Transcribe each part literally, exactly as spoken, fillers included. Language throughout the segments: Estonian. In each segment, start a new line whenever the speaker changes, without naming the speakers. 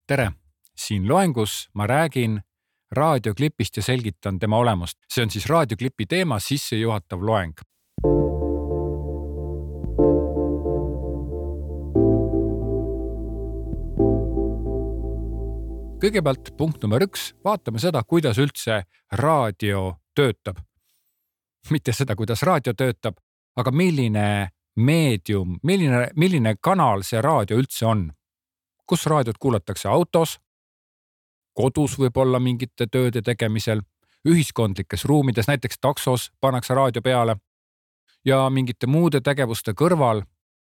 Tere! Siin loengus ma räägin raadioklipist ja selgitan tema olemust. See on siis raadioklipi teema sissejuhatav loeng. Kõigepealt punkt number üks, vaatame seda, kuidas üldse raadio töötab. Mitte seda, kuidas raadio töötab, aga milline meedium, milline, milline kanal see raadio üldse on. Kus raadiot kuulatakse autos, kodus võib-olla mingite tööde tegemisel, ühiskondlikes ruumides, näiteks taksos pannakse raadio peale ja mingite muude tegevuste kõrval.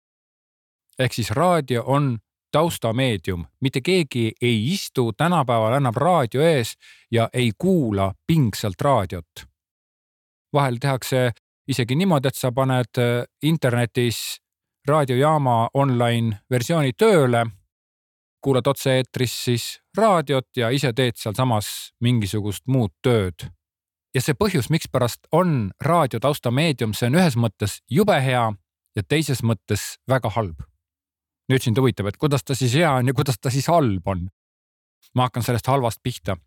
Ehk siis raadio on taustameedium. Mitte keegi ei istu tänapäeval enam raadio ees ja ei kuula pingsalt raadiot. Vahel tehakse isegi niimoodi, et sa paned internetis raadiojaama online versiooni tööle, kuulad otse eetris siis raadiot ja ise teed seal samas mingisugust muud tööd. Ja see põhjus, miks pärast on raadio taustameedium, see on ühes mõttes jube hea ja teises mõttes väga halb. Nüüd sind huvitab, et kuidas ta siis hea on ja kuidas ta siis halb on. Ma hakkan sellest halvast pihta.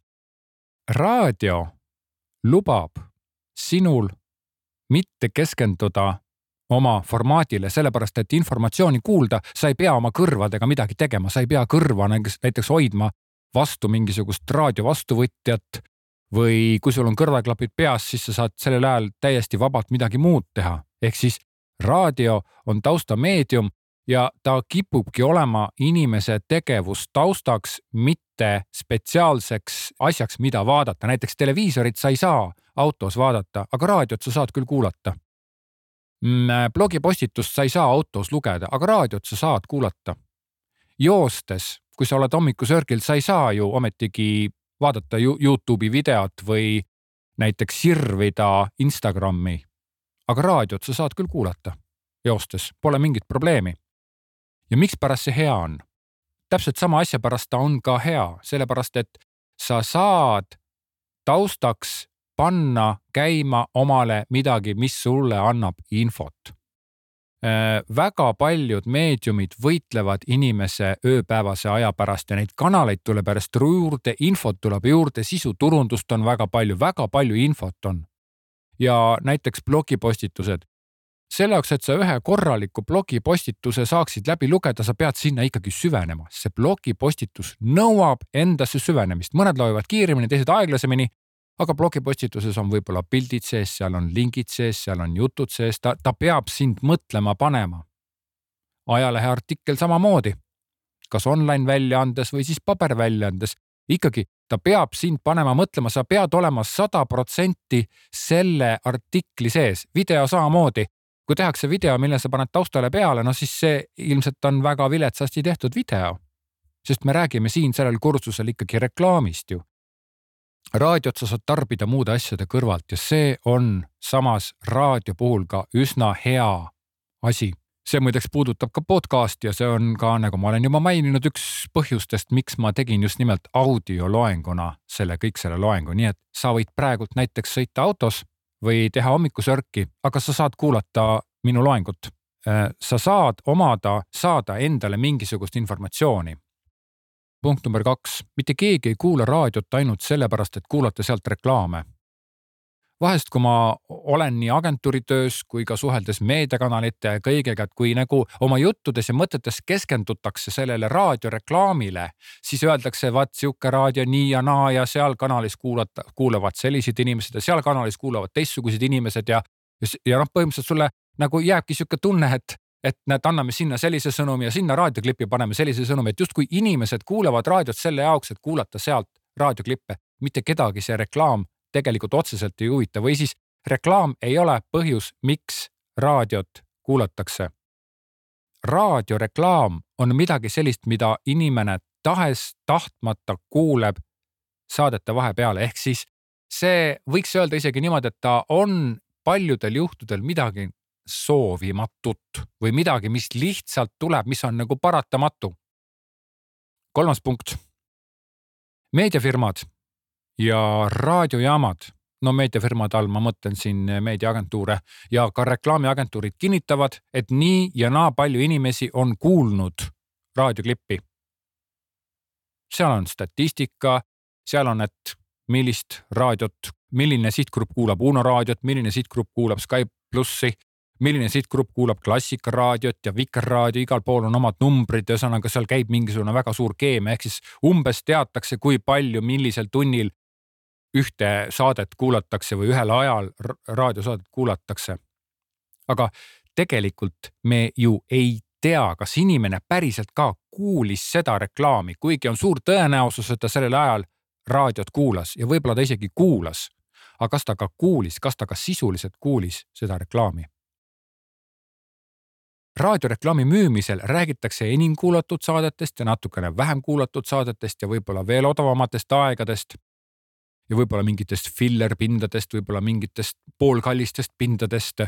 Raadio lubab sinul mitte keskenduda oma formaadile, sellepärast, et informatsiooni kuulda, sa ei pea oma kõrvadega midagi tegema, sa ei pea kõrva näiteks hoidma vastu mingisugust raadio vastuvõtjat või kui sul on kõrvaklapid peas, siis sa saad sellel ajal täiesti vabalt midagi muud teha. Ehk siis raadio on taustameedium ja ta kipubki olema inimese tegevus taustaks, mitte spetsiaalseks asjaks, mida vaadata. Näiteks televiisorit sa ei saa autos vaadata, aga raadiot sa saad küll kuulata. Blogipostitust sa ei saa autos lugeda, aga raadiot sa saad kuulata. Joostes, kui sa oled hommikusörgil, sa ei saa ju ometigi vaadata YouTube'i videot või näiteks sirvida Instagrami. Aga raadiot sa saad küll kuulata joostes, pole mingit probleemi. Ja miks pärast see hea on? Täpselt sama asja pärast ta on ka hea, sellepärast et sa saad taustaks panna käima omale midagi, mis sulle annab infot. Väga paljud meediumid võitlevad inimese ööpäevase aja pärast ja neid kanaleid tuleb pärast juurde, infot tuleb juurde, sisuturundust on väga palju, väga palju infot on. Ja näiteks blogipostitused. Selle jaoks, et sa ühe korraliku blogipostituse saaksid läbi lugeda, sa pead sinna ikkagi süvenema. See blogipostitus nõuab endasse süvenemist. Mõned loevad kiiremini, teised aeglasemini, aga blogipostituses on võib-olla pildid sees, seal on lingid sees, seal on jutud sees, ta, ta peab sind mõtlema panema. Ajalehe artikkel samamoodi, kas online väljaandes või siis paber väljaandes, ikkagi ta peab sind panema mõtlema, sa pead olema sada protsenti selle artikli sees, video samamoodi. Kui tehakse video, mille sa paned taustale peale, no siis see ilmselt on väga viletsasti tehtud video, sest me räägime siin sellel kursusel ikkagi reklaamist ju. Raadiot sa saad tarbida muude asjade kõrvalt ja see on samas raadio puhul ka üsna hea asi. See muideks puudutab ka podcasti ja see on ka, nagu ma olen juba maininud, üks põhjustest, miks ma tegin just nimelt audioloenguna selle kõik selle loengu. Nii et sa võid praegult näiteks sõita autos või teha hommikusörki, aga sa saad kuulata minu loengut. Sa saad omada, saada endale mingisugust informatsiooni. Punkt number kaks. Mitte keegi ei kuula raadiot ainult sellepärast, et kuulata sealt reklaame. Vahest, kui ma olen nii agentuuritöös kui ka suheldes meediakanalite ja kõigega, et kui nagu oma juttudes ja mõtetes keskendutakse sellele raadioreklaamile, siis öeldakse, vaat siuke raadio nii ja naa ja seal kanalis kuulata, kuulavad sellised inimesed ja seal kanalis kuulavad teistsugused inimesed ja, ja noh, põhimõtteliselt sulle nagu jääbki siuke tunne, et et näed, anname sinna sellise sõnumi ja sinna raadioklipi paneme sellise sõnumi, et just kui inimesed kuulevad raadiot selle jaoks, et kuulata sealt raadioklippe, mitte kedagi see reklaam tegelikult otseselt ei huvita või siis reklaam ei ole põhjus, miks raadiot kuulatakse. Raadioreklaam on midagi sellist, mida inimene tahes tahtmata kuuleb saadete vahepeale, ehk siis see võiks öelda isegi niimoodi, et ta on paljudel juhtudel midagi soovimatut või midagi, mis lihtsalt tuleb, mis on nagu paratamatu. Kolmas punkt. Meediafirmad ja raadiojaamad, no meediafirmad all ma mõtlen siin meediaagentuure ja ka reklaamiagentuurid kinnitavad, et nii ja naa palju inimesi on kuulnud raadioklippi. seal on statistika, seal on, et millist raadiot, milline sihtgrupp kuulab Uno raadiot, milline sihtgrupp kuulab Sky plussi, milline sihtgrupp kuulab Klassikaraadiot ja Vikerraadio, igal pool on omad numbrid, ühesõnaga seal käib mingisugune väga suur keemia, ehk siis umbes teatakse, kui palju, millisel tunnil ühte saadet kuulatakse või ühel ajal raadiosaadet kuulatakse. Aga tegelikult me ju ei tea, kas inimene päriselt ka kuulis seda reklaami, kuigi on suur tõenäosus, et ta sellel ajal raadiot kuulas ja võib-olla ta isegi kuulas. Aga kas ta ka kuulis, kas ta ka sisuliselt kuulis seda reklaami? Raadioreklaami müümisel räägitakse enim kuulatud saadetest ja natukene vähem kuulatud saadetest ja võib-olla veel odavamatest aegadest ja võib-olla mingitest fillerpindadest, võib-olla mingitest poolkallistest pindadest.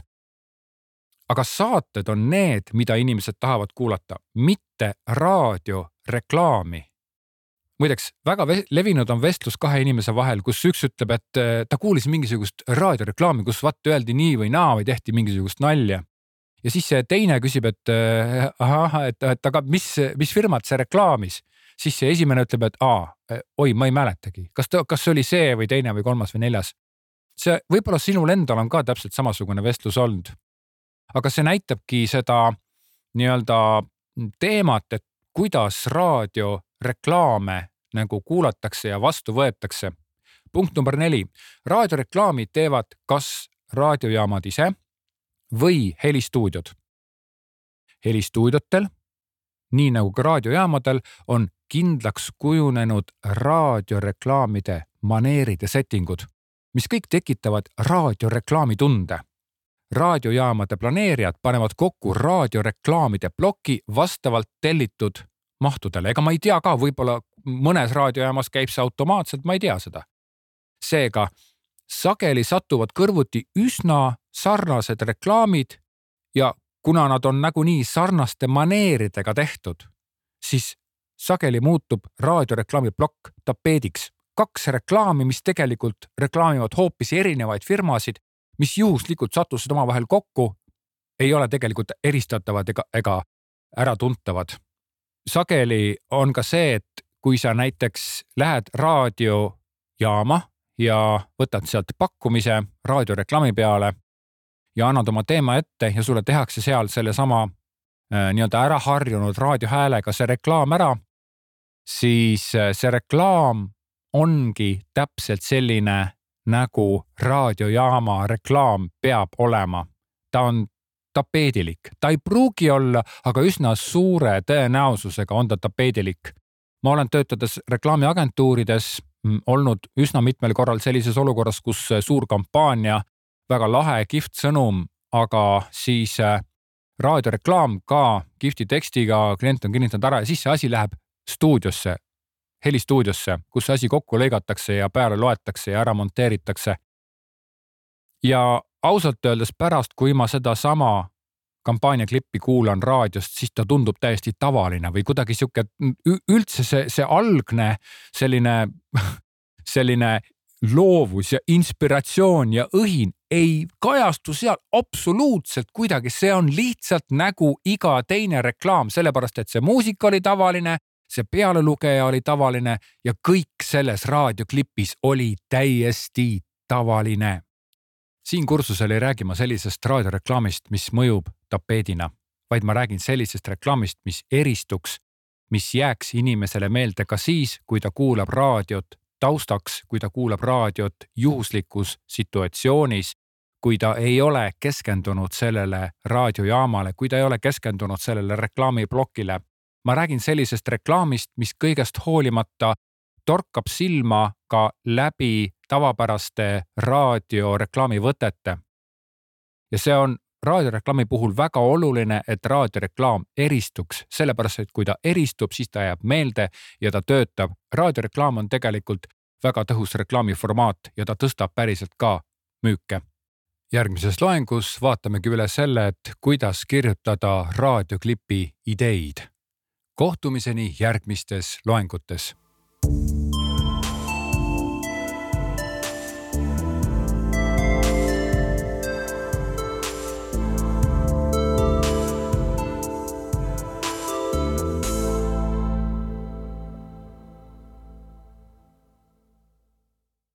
Aga saated on need, mida inimesed tahavad kuulata, mitte raadioreklaami. Muideks, väga levinud on vestlus kahe inimese vahel, kus üks ütleb, et ta kuulis mingisugust raadioreklaami, kus vaat öeldi nii või naa või tehti mingisugust nalja. Ja siis see teine küsib, et aha, et, et aga mis, mis firmat see reklaamis? Siis see esimene ütleb, et aa, oi, ma ei mäletagi. Kas, ta, kas oli see või teine või kolmas või neljas? See võib-olla sinul endal on ka täpselt samasugune vestlus olnud. Aga see näitabki seda nii-öelda teemat, et kuidas raadioreklaame nagu kuulatakse ja vastu võetakse. Punkt number neli. Raadioreklaami teevad kas raadiojaamad ise või helistuudiod. Helistuudiotel, nii nagu ka raadiojaamadel, on kindlaks kujunenud raadioreklaamide maneerid ja settingud, mis kõik tekitavad raadioreklaami tunde. Raadiojaamade planeerijad panevad kokku raadioreklaamide ploki vastavalt tellitud mahtudele. Ega ma ei tea ka, võib-olla mõnes raadiojaamas käib see automaatselt, ma ei tea seda. Seega, sageli satuvad kõrvuti üsna sarnased reklaamid ja kuna nad on nagunii sarnaste maneeridega tehtud, siis sageli muutub raadioreklaami plokk tapeediks. Kaks reklaami, mis tegelikult reklaamivad hoopis erinevaid firmasid, mis juhuslikult sattusid oma vahel kokku, ei ole tegelikult eristatavad ega, ega äratuntavad. Sageli on ka see, et kui sa näiteks lähed raadiojaama ja võtad sealt pakkumise raadioreklaami peale ja annad oma teema ette ja sulle tehakse seal selle sama äh, nii-öelda ära harjunud raadiohäälega see reklaam ära, siis see reklaam ongi täpselt selline, nagu raadiojaama reklaam peab olema. Ta on tapeedilik. Ta ei pruugi olla, aga üsna suure tõenäosusega on ta tapeedilik. Ma olen töötades reklaamiagentuurides olnud üsna mitmel korral sellises olukorras, kus suur kampaania, väga lahe, kihvt sõnum, aga siis raadioreklaam ka kihvti tekstiga, klient on kinnitanud ära ja siis see asi läheb stuudiosse, helistuudiosse, kus see asi kokku lõigatakse ja peale loetakse ja ära monteeritakse. Ja ausalt öeldes pärast, kui ma seda sama kampaaniaklippi kuulan raadiost, siis ta tundub täiesti tavaline või kuidagi siuke üldse see, see algne selline, selline loovus ja inspiratsioon ja õhin ei kajastu seal absoluutselt kuidagi. See on lihtsalt nagu iga teine reklaam, sellepärast et see muusika oli tavaline, see pealelugeja oli tavaline ja kõik selles raadioklipis oli täiesti tavaline. Siin kursusel ei räägi ma sellisest raadioreklaamist, mis mõjub tapeedina, vaid ma räägin sellisest reklaamist, mis eristuks, mis jääks inimesele meelde ka siis, kui ta kuulab raadiot taustaks, kui ta kuulab raadiot juhuslikus situatsioonis, kui ta ei ole keskendunud sellele raadiojaamale, kui ta ei ole keskendunud sellele reklaamiplokile. Ma räägin sellisest reklaamist, mis kõigest hoolimata torkab silma ka läbi tavapäraste raadioreklaami võtete. Ja see on raadioreklaami puhul väga oluline, et raadioreklaam eristuks, sellepärast, et kui ta eristub, siis ta jääb meelde ja ta töötab. Raadioreklaam on tegelikult väga tõhus reklaamiformaat ja ta tõstab päriselt ka müüke. Järgmises loengus vaatamegi üle selle, et kuidas kirjutada raadioklipi ideid. Kohtumiseni järgmistes loengutes.